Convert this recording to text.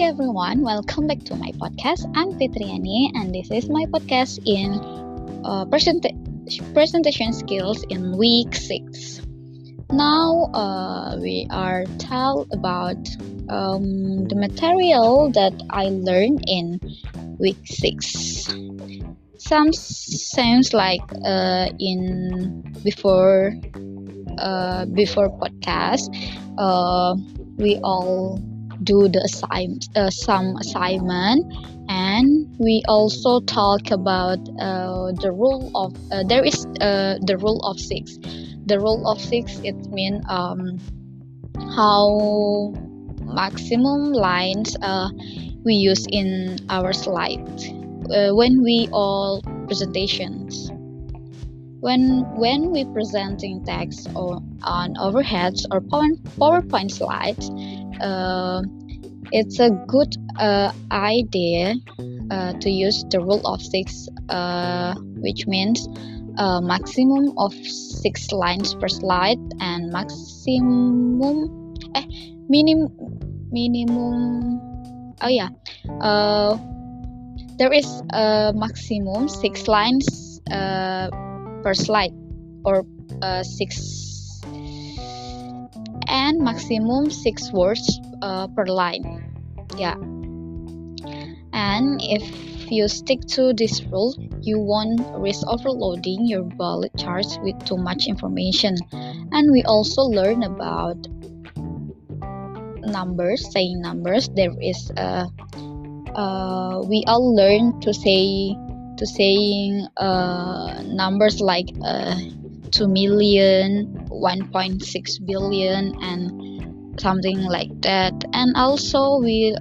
everyone, welcome back to my podcast. I'm Fitriani, and this is my podcast in presentation skills in week 6. Now we are tell about the material that I learned in week 6. Some sounds like in before podcast, we all do some assignment, and we also talk about the rule of there is the rule of 6. The rule of 6, it means how maximum lines we use in our slides when we all presentations. When we presenting text on overheads or PowerPoint slides, it's a good idea to use the rule of 6, which means maximum of 6 lines per slide and minimum. There is a maximum 6 lines per slide, or 6, and maximum 6 words per line. Yeah, and if you stick to this rule, you won't risk overloading your bullet charts with too much information. And we also learn about numbers, saying numbers. There is we all learn to saying numbers like 2 million, 1.6 billion, and something like that. And also we